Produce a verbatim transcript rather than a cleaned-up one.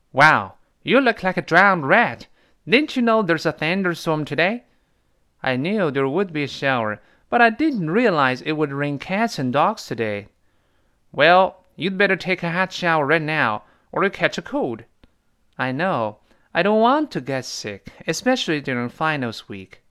Wow, you look like a drowned rat. Didn't you know there's a thunderstorm today? I knew there would be a shower, but I didn't realize it would rain cats and dogs today. Well, you'd better take a hot shower right now, or you'll catch a cold. I know. I don't want to get sick, especially during finals week.